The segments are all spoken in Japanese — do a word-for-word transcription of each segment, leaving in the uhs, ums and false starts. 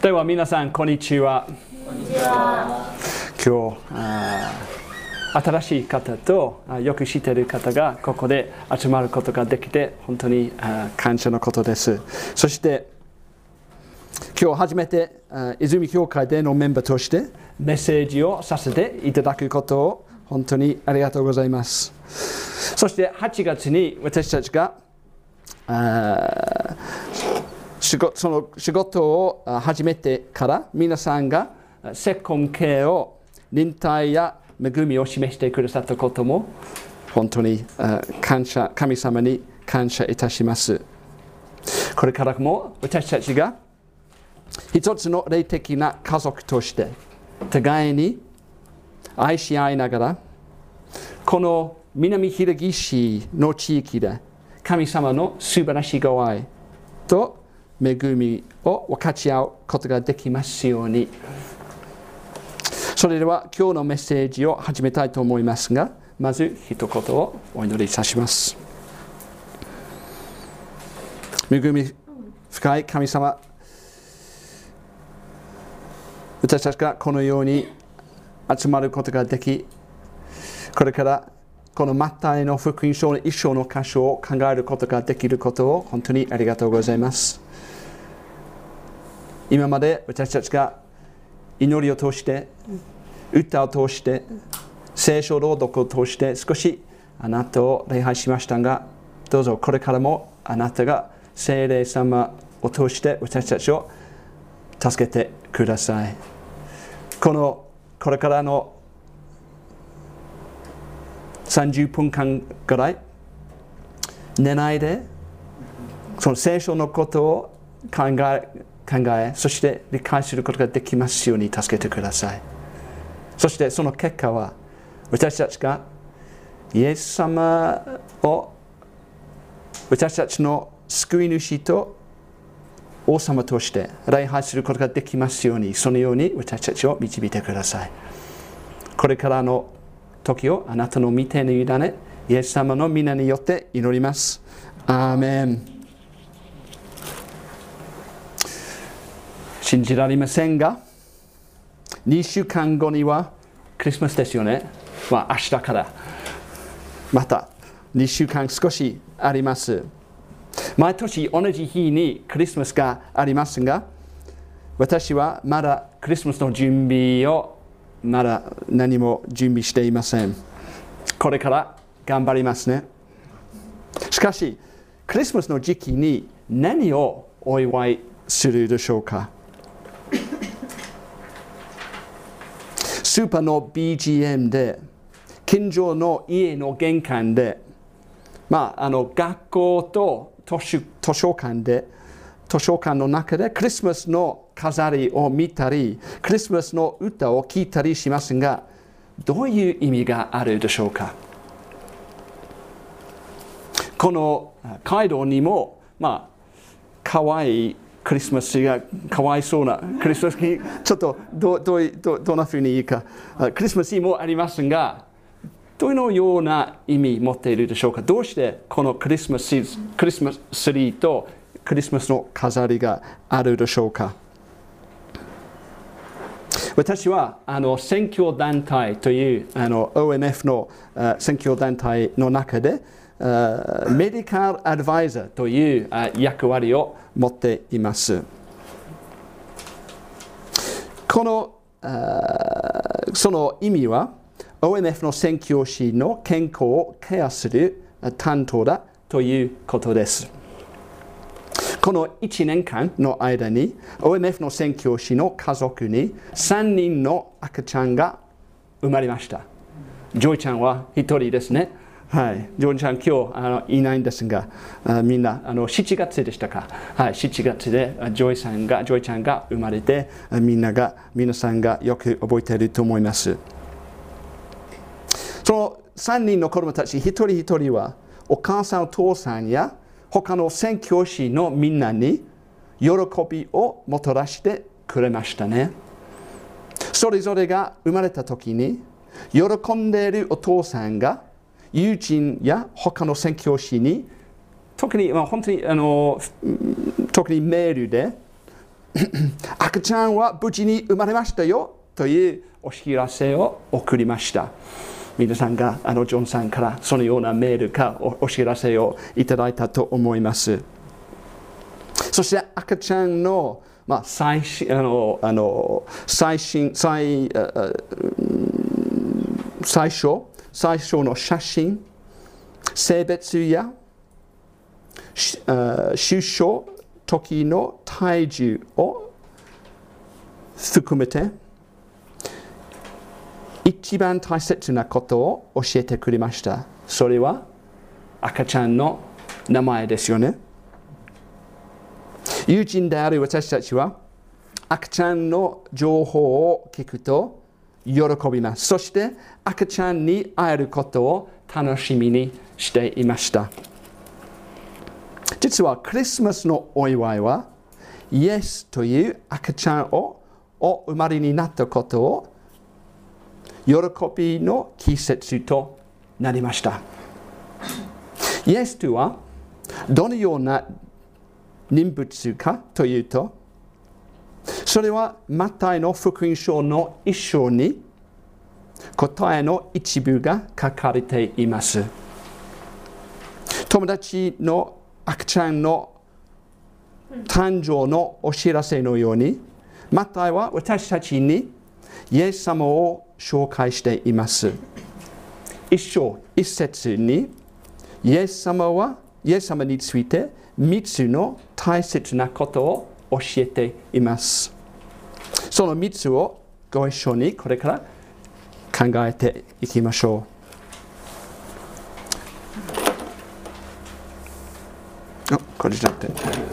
では皆さんこんにちは。 こんにちは。 今日あ新しい方とあよく知っている方がここで集まることができて本当にあ感謝のことです。そして今日初めてあ泉教会でのメンバーとしてメッセージをさせていただくことを本当にありがとうございます。そしてはちがつに私たちがあ仕事、その仕事を始めてから皆さんがセコン系を忍耐や恵みを示してくださったことも本当に感謝、神様に感謝いたします。これからも私たちが一つの霊的な家族として互いに愛し合いながらこの南平岸の地域で神様の素晴らしいご愛と恵みを分かち合うことができますように。それでは今日のメッセージを始めたいと思いますが、まず一言をお祈りいたします。恵み深い神様、私たちがこのように集まることができ、これからこのマタイの福音書の一章の箇所を考えることができることを本当にありがとうございます。今まで私たちが祈りを通して、歌を通して、聖書朗読を通して少しあなたを礼拝しましたが、どうぞこれからもあなたが聖霊様を通して私たちを助けてください。このこれからのさんじゅっぷんかんぐらい寝ないでその聖書のことを考え考え、そして理解することができますように助けてください。そしてその結果は私たちがイエス様を私たちの救い主と王様として礼拝することができますように、そのように私たちを導いてください。これからの時をあなたの御手に委ね、イエス様の皆によって祈ります。アーメン。信じられませんが、にしゅうかんごにはクリスマスですよね。まあ明日からまたにしゅうかん少しあります。毎年同じ日にクリスマスがありますが、私はまだクリスマスの準備をまだ何も準備していません。これから頑張りますね。しかし、クリスマスの時期に何をお祝いするでしょうか。スーパーの ビージーエム で、近所の家の玄関で、まあ、あの学校と図書、図書館で、図書館の中でクリスマスの飾りを見たり、クリスマスの歌を聴いたりしますが、どういう意味があるでしょうか。この街道にも、まあ、かわいいクリスマスがかわいそうなクリスマスにちょっとどどどどんなふうにいいか、クリスマスもありますが、どのような意味を持っているでしょうか。どうしてこのクリスマスクリスマスツリーとクリスマスの飾りがあるでしょうか。私はあの宣教団体というあの オーエムエフ の宣教団体の中でメディカルアドバイザーという役割を持っています。このその意味は オーエムエフ の宣教師の健康をケアする担当だということです。このいちねんかんの間に オーエムエフ の宣教師の家族にさんにんの赤ちゃんが生まれました。ジョイちゃんはひとりですね。はい、ジョイちゃん今日あのいないんですが、あみんなあのしちがつでしたか。はい、しちがつでジョイさんがジョイちゃんが生まれて、みんなが皆さんがよく覚えていると思います。そのさんにんの子供たち一人一人はお母さんお父さんや他の宣教師のみんなに喜びをもたらしてくれましたね。それぞれが生まれた時に喜んでいるお父さんが友人や他の宣教師に特に、まあ、本当にあの特にメールで赤ちゃんは無事に生まれましたよというお知らせを送りました。皆さんがあのジョンさんからそのようなメールか お, お知らせをいただいたと思います。そして赤ちゃんの、まあ、最新あのあの最新最最初最初の写真、性別や出生時の体重を含めて一番大切なことを教えてくれました。それは赤ちゃんの名前ですよね。友人である私たちは赤ちゃんの情報を聞くと喜びます。そして赤ちゃんに会えることを楽しみにしていました。実はクリスマスのお祝いはイエスという赤ちゃんをお生まれになったことを喜びの季節となりました。イエスとはどのような人物かというと、それはマタイの福音書の一章に答えの一部が書かれています。友達の赤ちゃんの誕生のお知らせのように、マタイは私たちにイエス様を紹介しています。一章一節にイエス様はイエス様についてみっつの大切なことを教えています。そのみっつをご一緒にこれから考えていきましょう。あ、これじゃなくて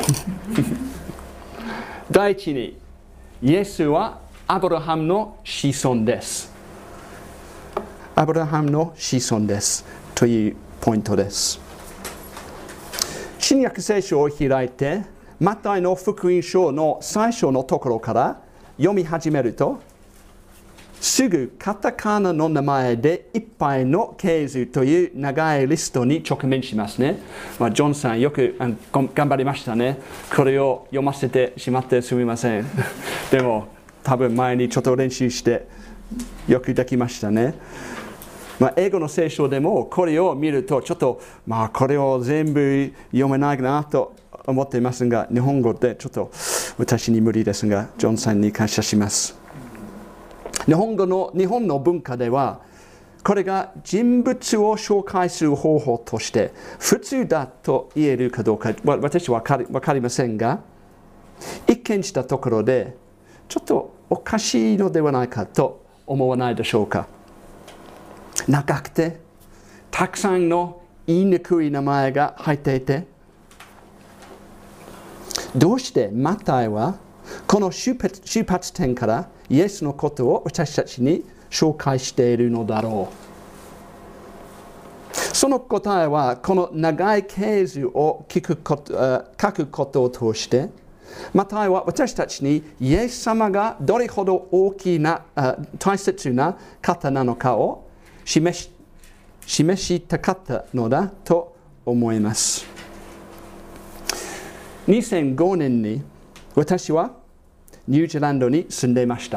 第一に、イエスはアブラハムの子孫です。アブラハムの子孫ですというポイントです。新約聖書を開いて、マタイの福音書の最初のところから読み始めると、すぐカタカナの名前でいっぱいの係数という長いリストに直面しますね。まあ、ジョンさんよく頑張りましたね。これを読ませてしまってすみません。でも多分前にちょっと練習してよくできましたね。まあ、英語の聖書でもこれを見るとちょっとまあこれを全部読めないなと思っていますが、日本語でちょっと私に無理ですが、ジョンさんに感謝します。日本語の日本の文化ではこれが人物を紹介する方法として普通だと言えるかどうか私は分かりませんが、一見したところでちょっとおかしいのではないかと思わないでしょうか。長くてたくさんの言いにくい名前が入っていて、どうしてマタイはこの出発、出発点からイエスのことを私たちに紹介しているのだろう。その答えはこの長い系図を聞くこと、書くことを通して、マタイは私たちにイエス様がどれほど大きな大切な方なのかを示し、示したかったのだと思います。にせんごねんに私はニュージーランドに住んでいました。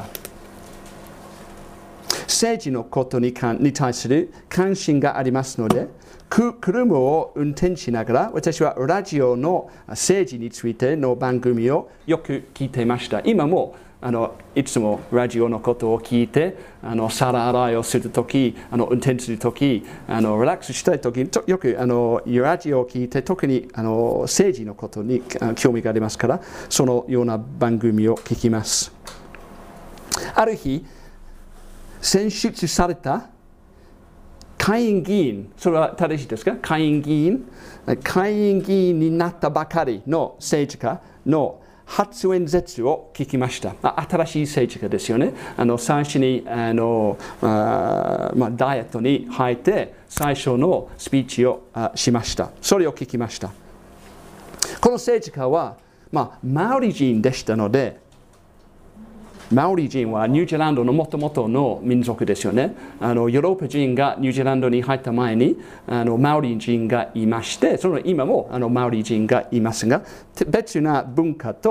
政治のことに対する関心がありますので、車を運転しながら私はラジオの政治についての番組をよく聞いていました。今もあのいつもラジオのことを聞いて、あの皿洗いをするとき、あの運転するとき、あのリラックスしたいときによくあのラジオを聞いて、特にあの政治のことに興味がありますから、そのような番組を聞きます。ある日、選出された下院議員、それは正しいですか？下院議員、下院議員になったばかりの政治家の初演説を聞きました。新しい政治家ですよね。あの最初にあのあ、まあ、ダイエットに入って最初のスピーチをしました。それを聞きました。この政治家は、まあ、マオリ人でしたので、マオリ人はニュージーランドのもともとの民族ですよね。あのヨーロッパ人がニュージーランドに入った前にあのマオリ人がいまして、その今もあのマオリ人がいますが、別な文化と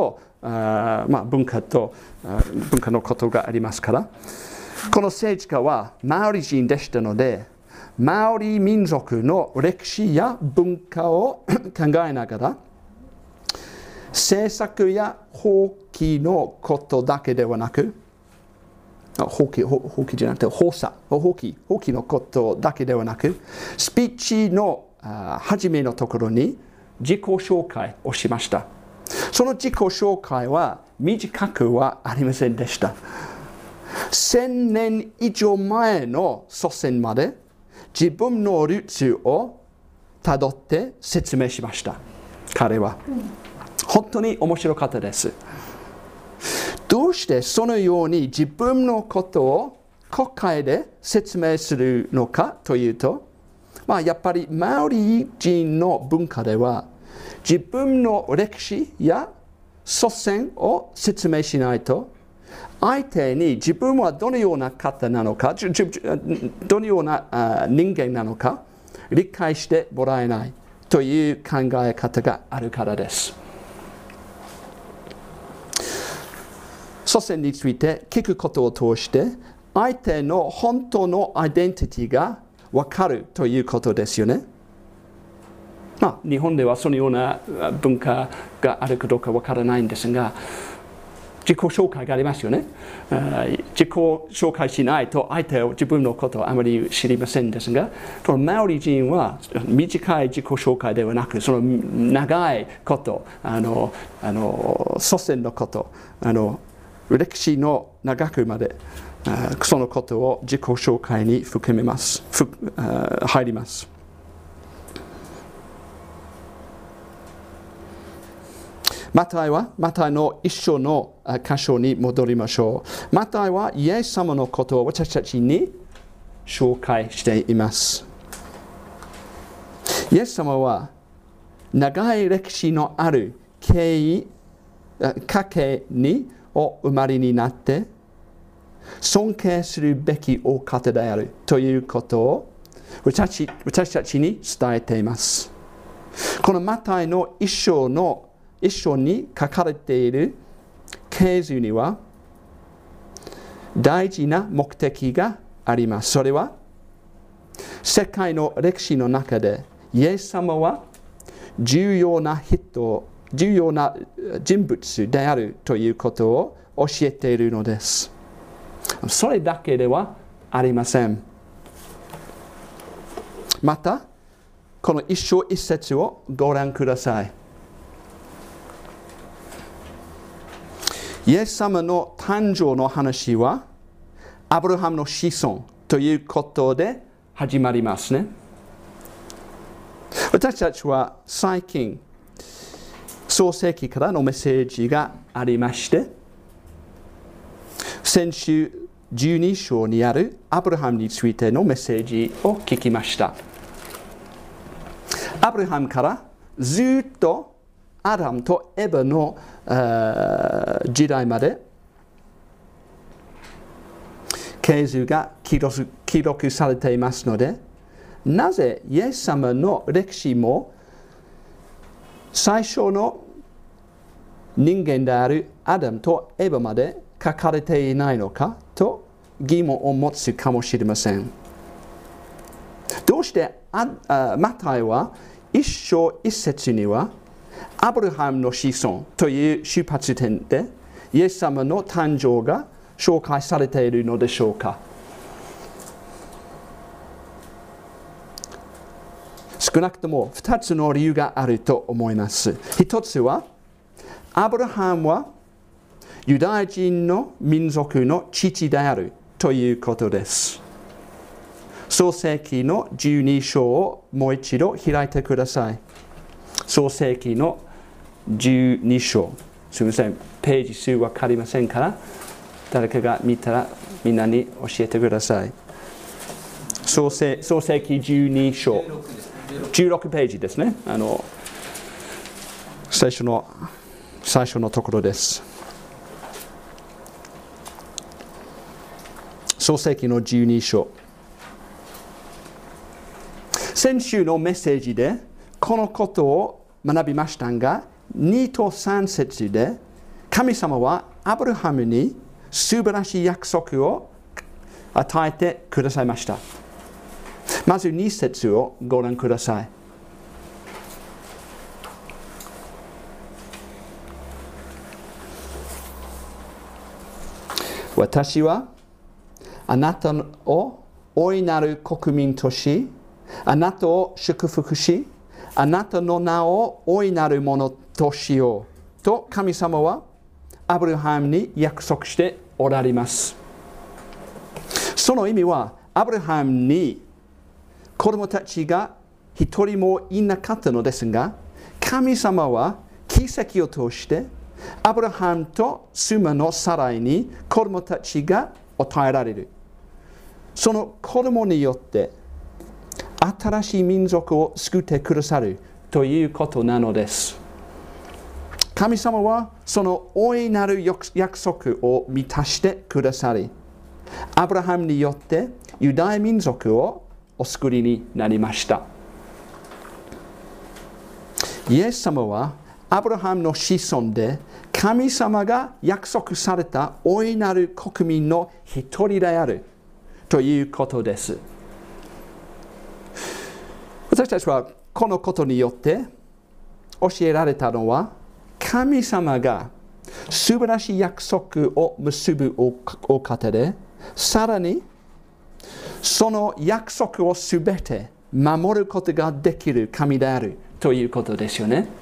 あ、まあ、文化と文化のことがありますから、この政治家はマオリ人でしたので、マオリ民族の歴史や文化を考えながら、政策や法規のことだけではなく、法規、法規じゃなくて法査、法規、法規のことだけではなく、スピーチの初めのところに自己紹介をしました。その自己紹介は短くはありませんでした。千年以上前の祖先まで自分のルーツをたどって説明しました。彼は。本当に面白かったです。どうしてそのように自分のことを国会で説明するのかというと、まあ、やっぱりマオリ人の文化では自分の歴史や祖先を説明しないと相手に自分はどのような方なのか、どのような人間なのか理解してもらえないという考え方があるからです。祖先について聞くことを通して相手の本当のアイデンティティが分かるということですよね。まあ、日本ではそのような文化があるかどうか分からないんですが、自己紹介がありますよね。自己紹介しないと相手を自分のことをあまり知りませんですが、このマオリ人は短い自己紹介ではなく、その長いこと、あのあの祖先のこと、あの歴史の長くまでそのことを自己紹介に含めます、入ります。マタイは、マタイの一章の箇所に戻りましょう。マタイはイエス様のことを私たちに紹介しています。イエス様は長い歴史のある経緯、家系にお生まれになって尊敬するべきお方であるということを私、私たちに伝えています。このマタイの一章の一章に書かれている経図には大事な目的があります。それは世界の歴史の中でイエス様は重要な人、重要な人物であるということを教えているのです。それだけではありません。また、この一章一節をご覧ください。イエス様の誕生の話はアブラハムの子孫ということで始まりますね。私たちは最近創世記からのメッセージがありまして、先週じゅうに章にあるアブラハムについてのメッセージを聞きました。アブラハムからずっとアダムとエヴァの時代まで経図が記録、記録されていますので、なぜイエス様の歴史も最初の人間であるアダムとエヴァまで書かれていないのかと疑問を持つかもしれません。どうしてああマタイは一章一節にはアブラハムの子孫という出発点でイエス様の誕生が紹介されているのでしょうか。少なくともふたつの理由があると思います。一つは、アブラハムはユダヤ人の民族の父であるということです。創世記のじゅうに章をもう一度開いてください。創世記のじゅうに章。すみません、ページ数わかりませんから、誰かが見たらみんなに教えてください。創世、創世記じゅうに章。じゅうろくページですね。あの、最初の、最初のところです。創世記のじゅうに章。先週のメッセージでこのことを学びましたが、にとさん節で神様はアブラハムに素晴らしい約束を与えてくださいました。まずに節をご覧ください。私はあなたを大いなる国民とし、あなたを祝福し、あなたの名を大いなるものとしようと神様はアブラハムに約束しておられます。その意味はアブラハムに子供たちが一人もいなかったのですが、神様は奇跡を通してアブラハムと妻のサライに子供たちが与えられる。その子供によって新しい民族を救ってくださるということなのです。神様はその大いなる約束を満たしてくださり、アブラハムによってユダヤ民族をお救いになりました。イエス様はアブラハムの子孫で神様が約束された大いなる国民の一人であるということです。私たちはこのことによって教えられたのは、神様が素晴らしい約束を結ぶお方で、さらにその約束をすべて守ることができる神であるということですよね。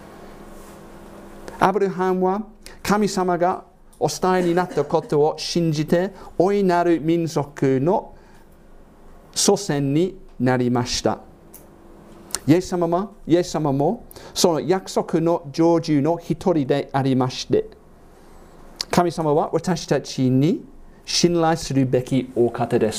アブラハムは神様がお伝えになったことを信じて、大いなる民族の祖先になりました。イエス様も、イエス様もその約束の成就の一人でありまして、神様は私たちに信頼するべきお方です。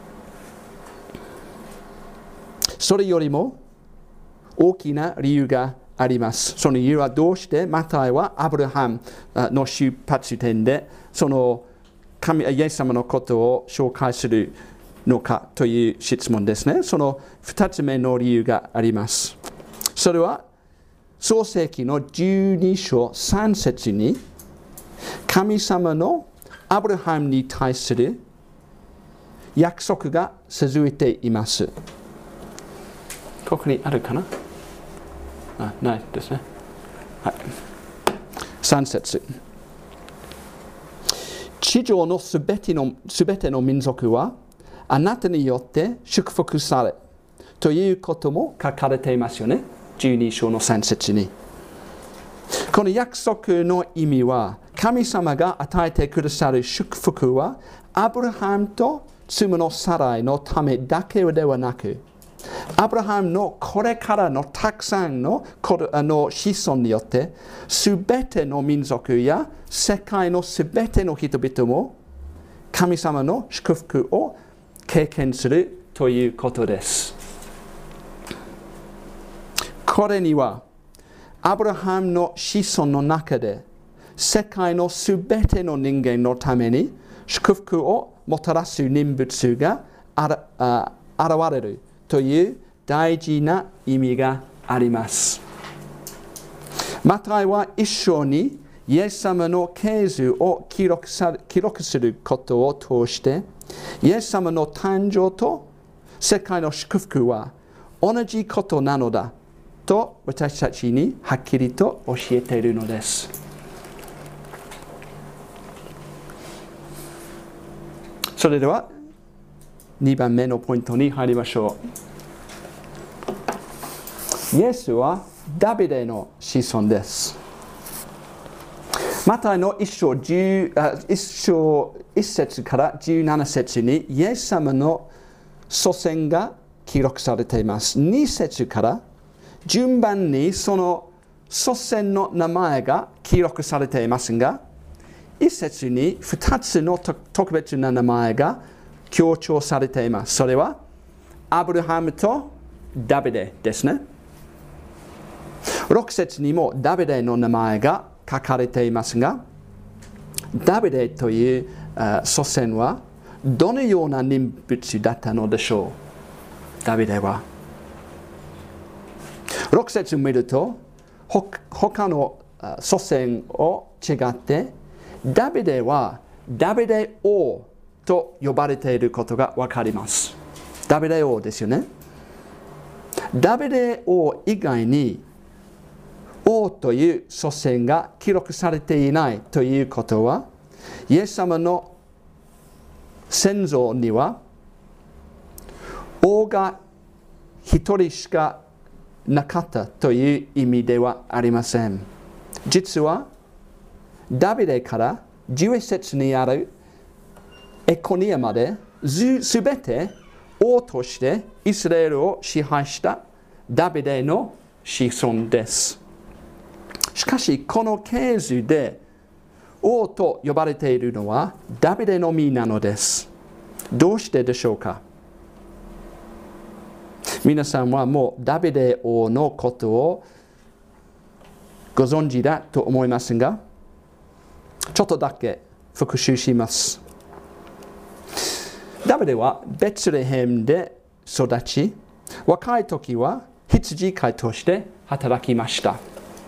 それよりも大きな理由があります。その理由はどうしてマタイはアブラハムの出発点でその神イエス様のことを紹介するのかという質問ですね。そのふたつめの理由があります。それは創世記のじゅうに章さん節に神様のアブラハムに対する約束が続いています。ここにあるかな？あ、ないですね。はい。さん節。地上のすべての、すべての民族はあなたによって祝福されということも書かれていますよね。じゅうに章のさん節に。この約束の意味は、神様が与えてくださる祝福はアブラハムと妻のサライのためだけではなく、アブラハムのこれからのたくさんのあの子孫によってすべての民族や世界のすべての人々も神様の祝福を経験するということです。これにはアブラハムの子孫の中で世界のすべての人間のために祝福をもたらす人物があらあ現れるという大事な意味があります。マタイは一章にイエス様の系図を記録さ記録することを通して、イエス様の誕生と世界の祝福は同じことなのだと私たちにはっきりと教えているのです。それではにばんめのポイントに入りましょう。イエスはダビデの子孫です。マタイの一章一章一節からじゅうなな節にイエス様の祖先が記録されています。に節から順番にその祖先の名前が記録されていますが、いち節にふたつの特別な名前が強調されています。それはアブラハムとダビデですね。ろく節にもダビデの名前が書かれていますが、ダビデという祖先はどのような人物だったのでしょう。ダビデはろく節を見ると他の祖先を違って、ダビデはダビデ王と呼ばれていることがわかります。ダビデ王ですよね。ダビデ王以外に王という祖先が記録されていないということは、イエス様の先祖には王が一人しかなかったという意味ではありません。実はダビデからじゅういっ節にあるエコニアまですべて王としてイスラエルを支配したダビデの子孫です。しかしこの系図で王と呼ばれているのはダビデのみなのです。どうしてでしょうか。皆さんはもうダビデ王のことをご存知だと思いますが、ちょっとだけ復習します。ダビデはベツレヘムで育ち、若い時は羊飼いとして働きました。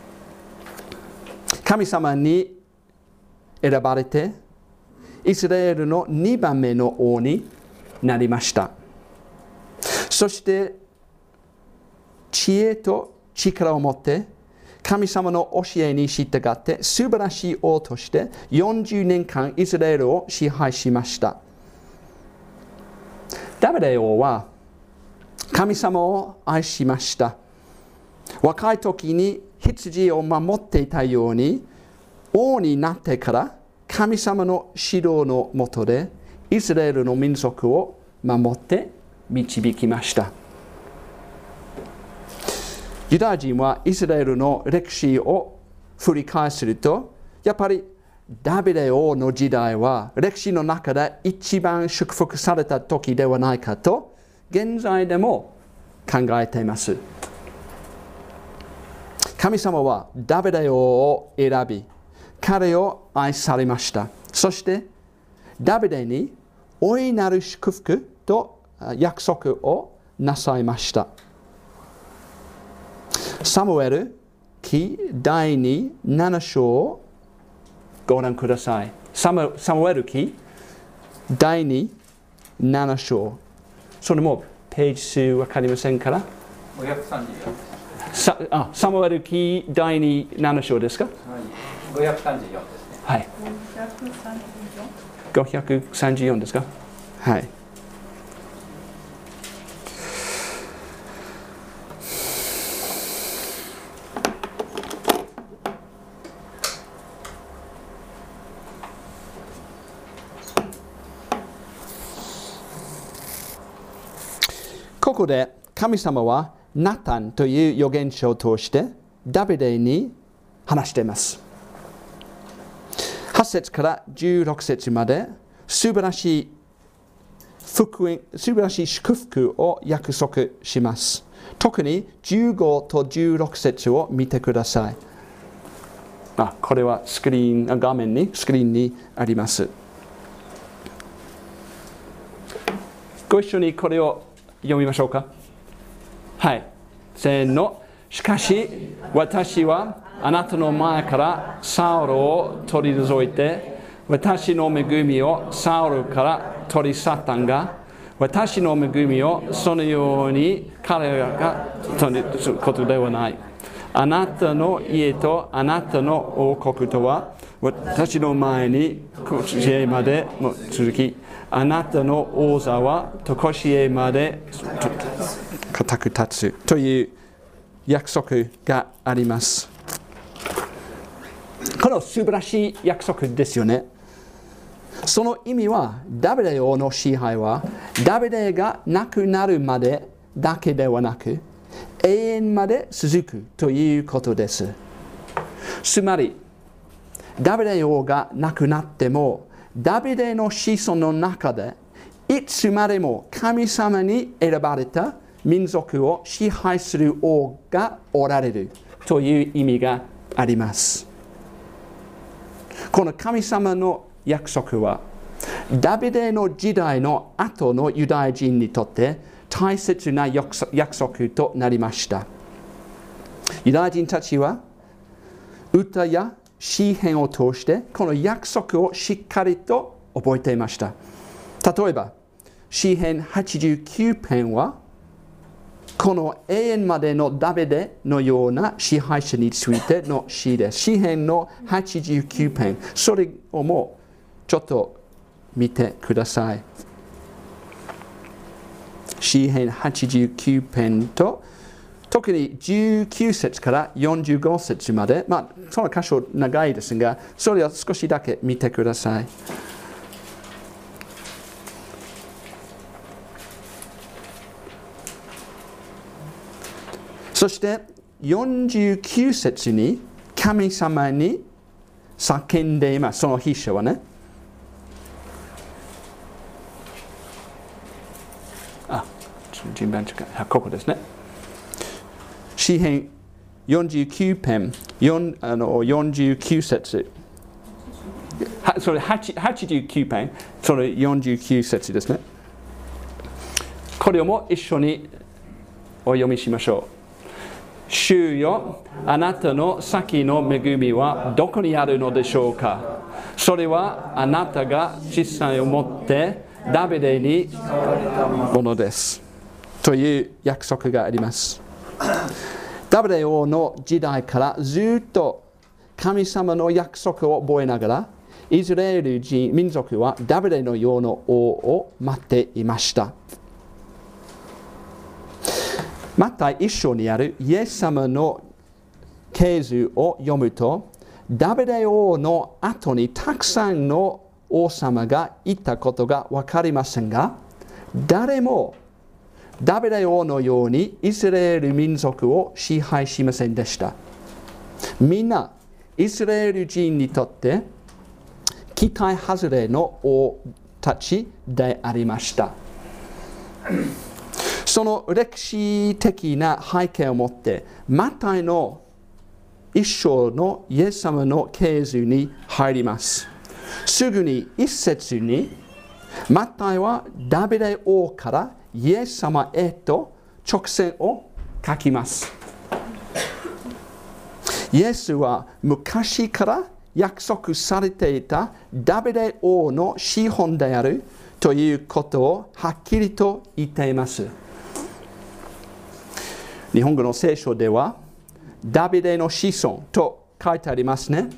神様に選ばれて、イスラエルのにばんめの王になりました。そして、知恵と力を持って、神様の教えに従って素晴らしい王としてよんじゅうねんかんイスラエルを支配しました。ダビデ王は神様を愛しました。若い時に羊を守っていたように、王になってから神様の指導のもとでイスラエルの民族を守って導きました。ユダヤ人はイスラエルの歴史を振り返すると、やっぱりダビデ王の時代は歴史の中で一番祝福された時ではないかと現在でも考えています。神様はダビデ王を選び、彼を愛されました。そしてダビデに大いなる祝福と約束をなさいました。サムエル記だいになな章をご覧ください。サム、サムエル記だいになな章。それもページ数わかりませんから。 ごひゃくさんじゅうよんさあ、サムエル記だいになな章ですか？はい、 ごひゃくさんじゅうよんですね。 はい。ごひゃくさんじゅうよんですか？はい。ここで神様はナタンという預言者を通してダビデに話しています。はち節からじゅうろく節まで素晴らしい福音、素晴らしい祝福を約束します。特にじゅうごとじゅうろく節を見てください。あ、これはスクリーン、画面に、スクリーンにあります。ご一緒にこれを読みましょうか。はい。せーの。しかし、私はあなたの前からサウルを取り除いて、私の恵みをサウルから取り去ったが、私の恵みをそのように彼らが取りすることではない。あなたの家とあなたの王国とは、私の前にこしえまでも続き、あなたの王座はとこしえまで固く立つという約束があります。この素晴らしい約束ですよね。その意味は、ダビデ王の支配はダビデが亡くなるまでだけではなく、永遠まで続くということです。つまり、ダビデ王が亡くなっても、ダビデの子孫の中でいつまでも神様に選ばれた民族を支配する王がおられるという意味があります。この神様の約束はダビデの時代の後のユダヤ人にとって大切な約束となりました。ユダヤ人たちは歌や詩篇を通してこの約束をしっかりと覚えていました。例えば詩篇はちじゅうきゅう編はこの永遠までのダビデのような支配者についての詩です。詩篇のはちじゅうきゅう編、それをもちょっと見てください。詩篇はちじゅうきゅう編と特にじゅうきゅう節からよんじゅうご節まで、まあその箇所長いですが、それを少しだけ見てください。そしてよんじゅうきゅう節に神様に叫んでいます。その筆者はね。あ、順番違う。ここですね。詩編よんじゅうきゅう編、あのよんじゅうきゅう節。はそれはちじゅうきゅう編、それよんじゅうきゅう節ですね。これをも一緒にお読みしましょう。主よ、あなたの先の恵みはどこにあるのでしょうか。それはあなたが実際をもってダビデにものです。という約束があります。ダビデ王の時代からずっと神様の約束を覚えながら、イスラエル人民族はダビデのような王を待っていました。マタイ一章にあるイエス様の系図を読むと、ダビデ王の後にたくさんの王様がいたことが分かりませんが、誰もダビデ王のようにイスラエル民族を支配しませんでした。みんなイスラエル人にとって期待外れの王たちでありました。その歴史的な背景を持って、マタイの一章のイエス様の系図に入ります。すぐに一節に、マタイはダビデ王からイエス様へと直線を書きます。イエスは昔から約束されていたダビデ王の子孫であるということをはっきりと言っています。日本語の聖書ではダビデの子孫と書いてありますね。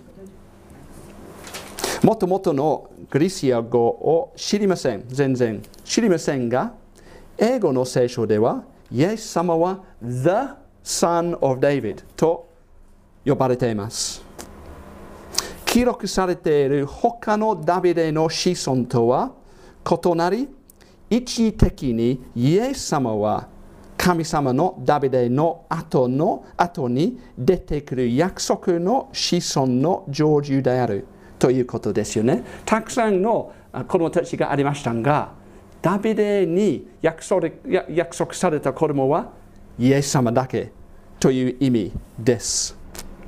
もともとのグリシア語を知りません。全然知りませんが、英語の聖書ではイエス様は The Son of David と呼ばれています。記録されている他のダビデの子孫とは異なり、一時的にイエス様は神様のダビデの後の後に出てくる約束の子孫の成就であるということですよね。たくさんの子供たちがありましたが、ダビデに約束、約束された子供はイエス様だけという意味です。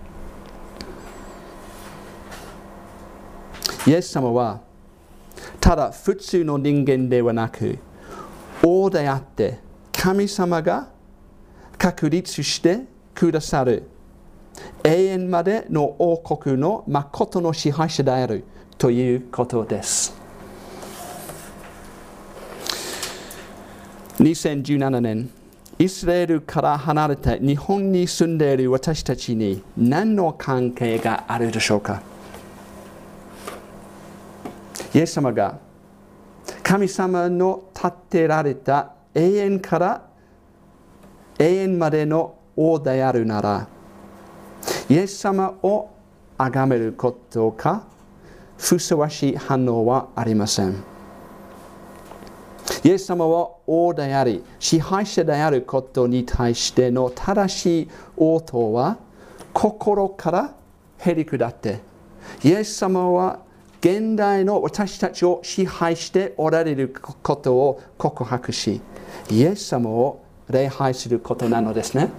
イエス様はただ普通の人間ではなく、王であって神様が確立してくださる永遠までの王国の誠の支配者であるということです。にせんじゅうななねん、イスラエルから離れて日本に住んでいる私たちに何の関係があるでしょうか。イエス様が神様の立てられた永遠から永遠までの王であるなら、イエス様を崇めることかふさわしい反応はありません。イエス様は王であり支配者であることに対しての正しい応答は心からへり下って、イエス様は現代の私たちを支配しておられることを告白し、イエス様を礼拝することなのですね。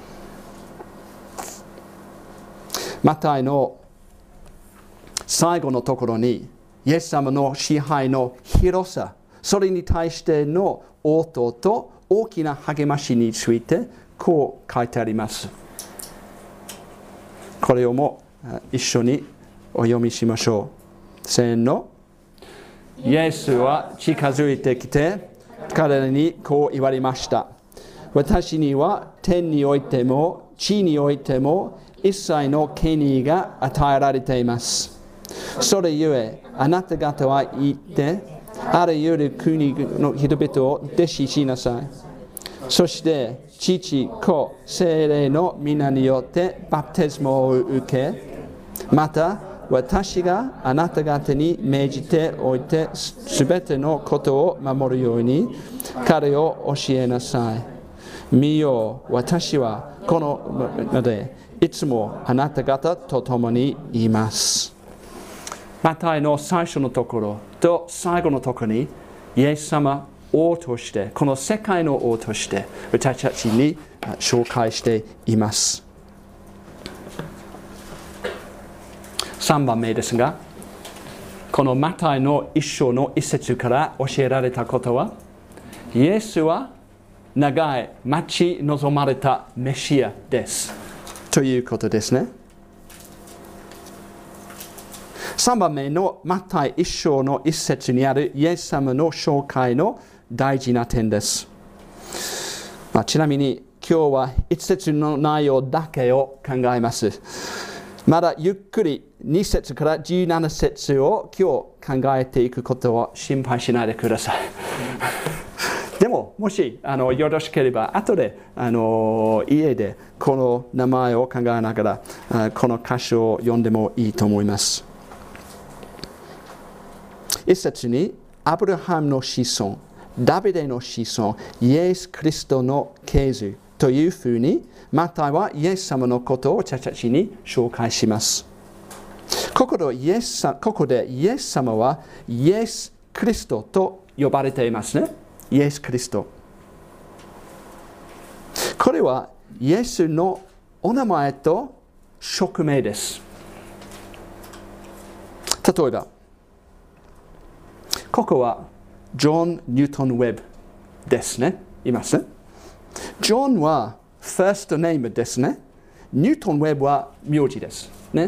マタイの最後のところに、イエス様の支配の広さ、それに対しての応答と大きな励ましについてこう書いてあります。これをも一緒にお読みしましょう。せーの。イエスは近づいてきて、彼らにこう言われました。私には天においても地においても一切の権威が与えられています。それゆえ、あなた方は言って、あらゆる国の人々を弟子しなさい。そして、父、子、聖霊の皆によってバプテスマを受け、また、私があなた方に命じておいて、すべてのことを守るように、彼を教えなさい。見よ、私はこのので、いつもあなた方と共にいます。マタイの最初のところと最後のところに、イエス様王として、この世界の王として、私たちに紹介しています。さんばんめですが、このマタイの一章の一節から教えられたことは、イエスは長い待ち望まれたメシアです。ということですね。さんばんめのマタイ一章の一節にあるイエス様の紹介の大事な点です。まあ、ちなみに今日は一節の内容だけを考えます。まだゆっくりに節からじゅうなな節を今日考えていくことを心配しないでください。でも、もしあのよろしければ、後であの家でこの名前を考えながら、この箇所を読んでもいいと思います。一節に、アブラハムの子孫、ダビデの子孫、イエス・キリストの系図というふうに、マタイはイエス様のことを私たちに紹介します。ここでイエス、ここでイエス様はイエス・キリストと呼ばれていますね。イエス・キリスト。これはイエスのお名前と職名です。例えば、ここはジョン・ニュートン・ウェブですね。いますね。ジョンはファーストネームですね。ニュートン・ウェブは名字ですね。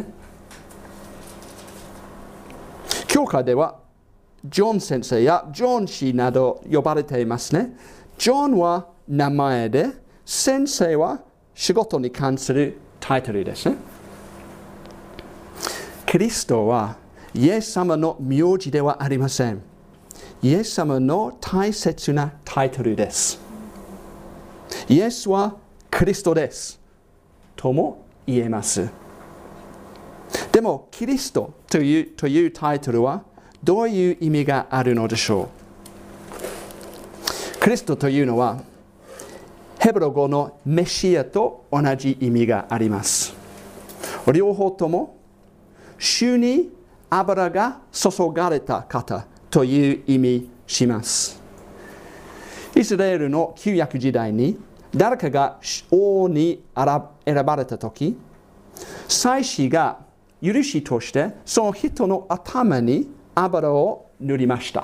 教会ではジョン先生やジョン氏など呼ばれていますね。ジョンは名前で、先生は仕事に関するタイトルですね。キリストはイエス様の名字ではありません。イエス様の大切なタイトルです。イエスはキリストです。とも言えます。でも、キリストという、というタイトルはどういう意味があるのでしょう。キリストというのは、ヘブル語のメシアと同じ意味があります。両方とも、主に油が注がれた方という意味します。イスラエルの旧約時代に誰かが王に選ばれたとき、祭司が許しとしてその人の頭に油を塗りました。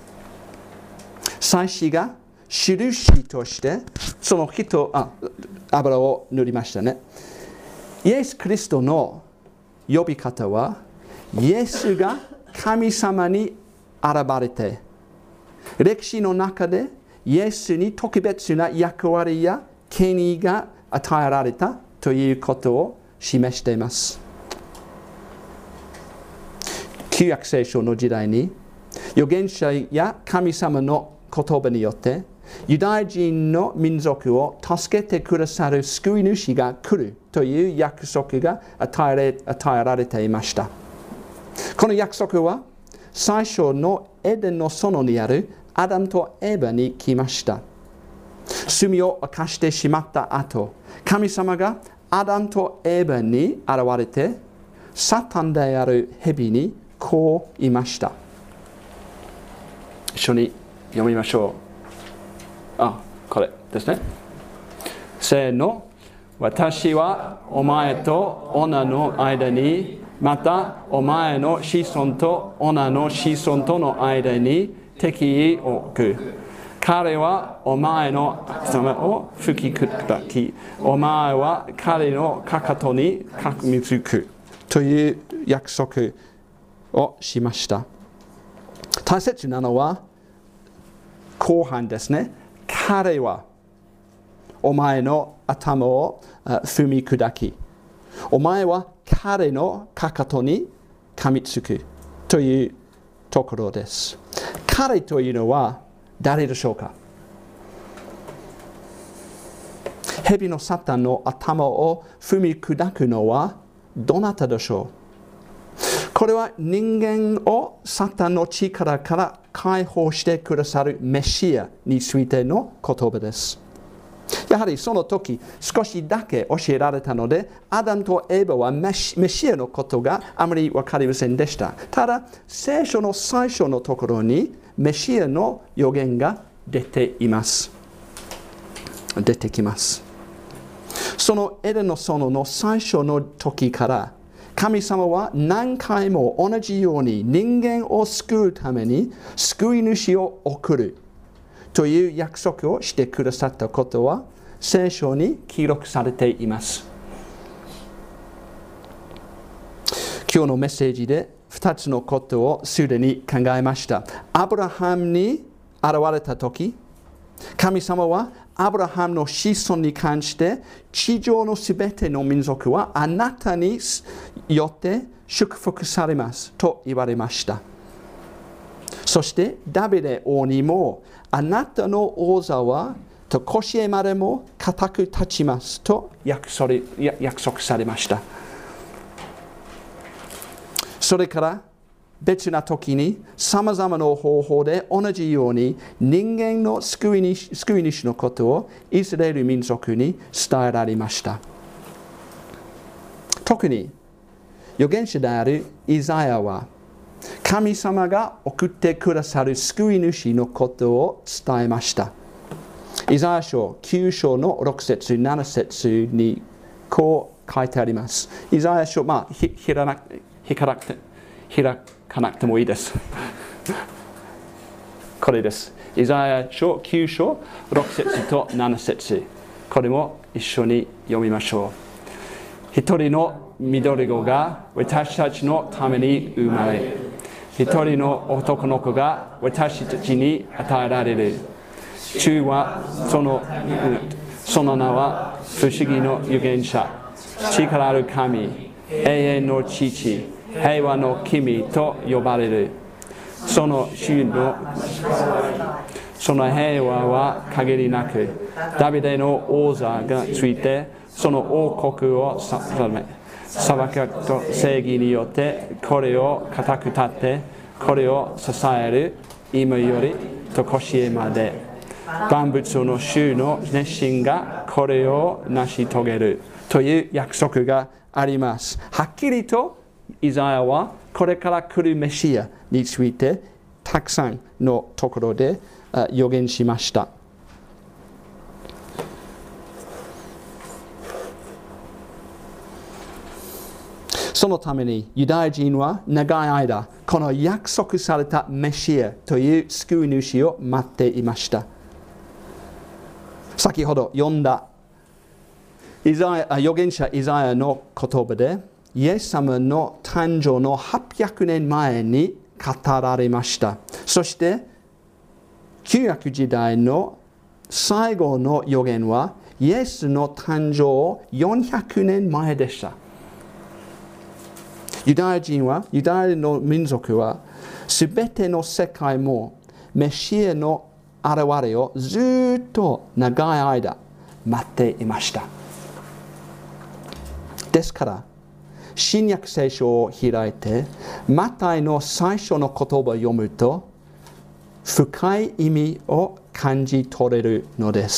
祭司が印としてその人あ油を塗りましたね。イエス・キリストの呼び方は、イエスが神様に現れて、歴史の中でイエスに特別な役割や権威が与えられたということを示しています。旧約聖書の時代に、預言者や神様の言葉によって、ユダヤ人の民族を助けてくださる救い主が来るという約束が与えられ、与えられていました。この約束は、最初のエデンの園にあるアダムとエバに来ました。罪を犯してしまった後、神様がアダムとエバに現れて、サタンである蛇にこう言いました。一緒に読みましょう。あ、これですね。せーの。私はお前と女の間に、またお前の子孫と女の子孫との間に敵意を置く。彼はお前の頭を吹き砕き、お前は彼のかかとにかみつく。 という約束をしました。大切なのは後半ですね。彼はお前の頭を踏み砕き、お前は彼のかかとに噛みつくというところです。彼というのは誰でしょうか？蛇のサタンの頭を踏み砕くのはどなたでしょう？これは人間をサタンの力から解放してくださるメシアについての言葉です。やはりその時少しだけ教えられたので、アダムとエバはメシ、メシアのことがあまり分かりませんでした。ただ聖書の最初のところにメシアの予言が出ています。出てきます。そのエデンの園の最初の時から神様は何回も同じように人間を救うために救い主を送るという約束をしてくださったことは聖書に記録されています。今日のメッセージでふたつのことをすでに考えました。アブラハムに現れたとき、神様はアブラハムの子孫に関して地上のすべての民族はあなたによって祝福されますと言われました。そしてダビデ王にもあなたの王座はと腰へまでも固く立ちますと約束されました。それから別な時にさまざまな方法で同じように人間の救い主、救い主のことをイスラエル民族に伝えられました。特に預言者であるイザヤは神様が送ってくださる救い主のことを伝えました。イザヤ書きゅう章のろく節なな節にこう書いてあります。イザヤ書、まあ、ひひらなひからなくて、ひらかなくてもいいです。これです。イザヤ書きゅう章ろく節となな節。これも一緒に読みましょう。一人の緑子が私たちのために生まれ、一人の男の子が私たちに与えられる。主はその、その名は不思議の預言者、力ある神、永遠の父、平和の君と呼ばれる。その主のその平和は限りなく、ダビデの王座がついて、その王国を定め、裁きと正義によってこれを固く立って、これを支える今よりと腰へまで。万物の主の熱心がこれを成し遂げるという約束があります。はっきりとイザヤはこれから来るメシアについてたくさんのところで予言しました。そのためにユダヤ人は長い間この約束されたメシアという救い主を待っていました。先ほど読んだイザヤ預言者イザヤの言葉でイエス様の誕生のはっぴゃくねんまえに語られました。そして旧約時代の最後の預言はイエスの誕生よんひゃくねんまえでした。ユダヤ人はユダヤの民族はすべての世界もメシアの現れをずっと長い間待っていました。ですから新約聖書を開いてマタイの最初の言葉を読むと深い意味を感じ取れるのです。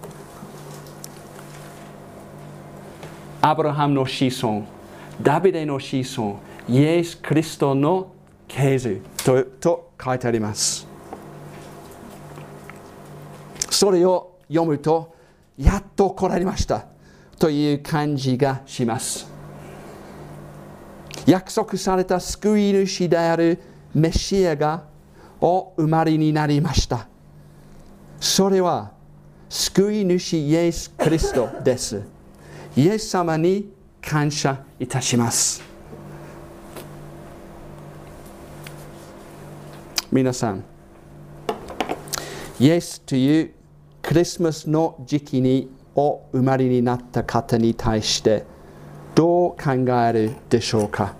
アブラハムの子孫、ダビデの子孫、イエス・キリストの系図 と, と書いてあります。それを読むとやっと来られましたという感じがします。約束された救い主であるメシアがお生まれになりました。それは救い主イエス・キリストです。イエス様に感謝いたします。 皆さん、イエスというクリスマスの時期にお生まれになった方に対してどう考えるでしょうか。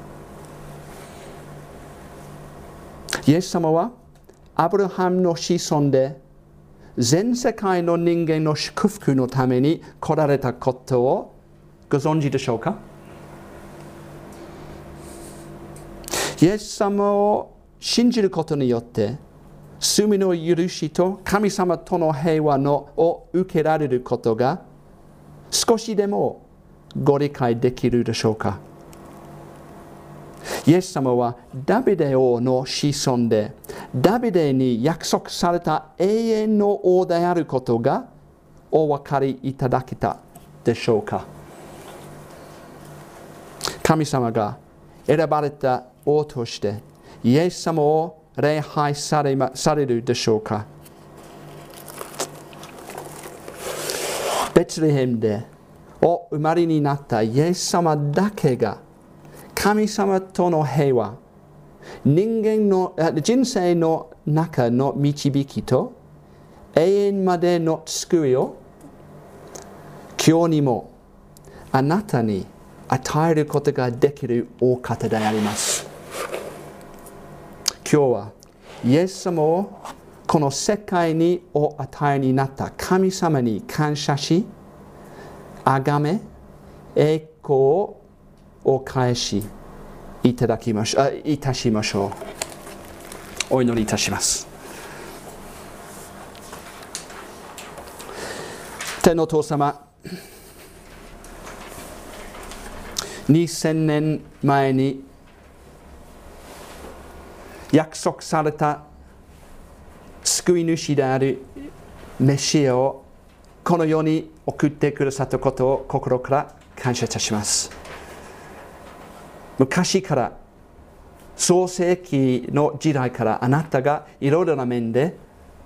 イエス様はアブラハムの子孫で全世界の人間の祝福のために来られたことをご存知でしょうか。イエス様を信じることによって罪の許しと神様との平和のを受けられることが少しでもご理解できるでしょうか。イエス様はダビデ王の子孫でダビデに約束された永遠の王であることがお分かりいただけたでしょうか。神様が選ばれた王としてイエス様を礼拝され、ま、されるでしょうか。ベツレヘムでお生まれになったイエス様だけが神様との平和、人間の人生の中の導きと永遠までの救いを今日にもあなたに与えることができるお方であります。今日はイエス様をこの世界にお与えになった神様に感謝し、あがめ、栄光をお返しいただきましょう、いたしましょう。お祈りいたします。天のお父様、にせんねんまえに約束された救い主であるメシアをこの世に送ってくださったことを心から感謝いたします。昔から創世記の時代からあなたがいろいろな面で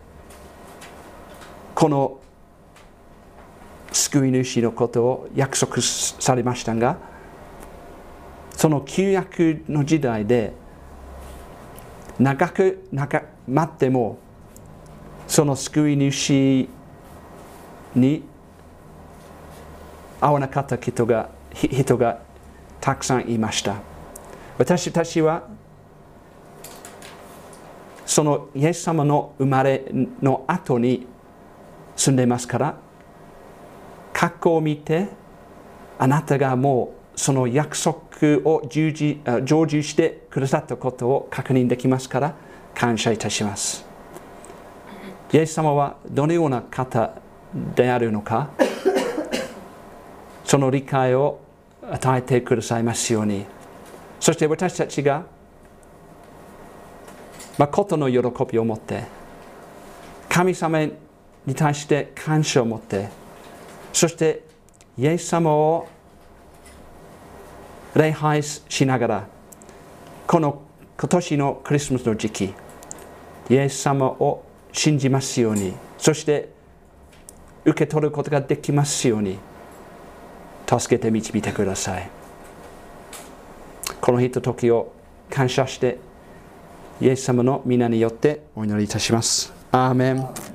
この救い主のことを約束されましたが、その旧約の時代で長く長待ってもその救い主に会わなかった人が人がたくさんいました。私たちはそのイエス様の生まれの後に住んでますから、過去を見てあなたがもうその約束を成就してくださったことを確認できますから感謝いたします。イエス様はどのような方であるのか、その理解を与えてくださいますように。そして私たちが誠の喜びを持って神様に対して感謝を持って、そしてイエス様を礼拝しながらこの今年のクリスマスの時期、イエス様を信じますように、そして受け取ることができますように助けて導いてください。この日と時を感謝してイエス様の皆によってお祈りいたします。アーメン。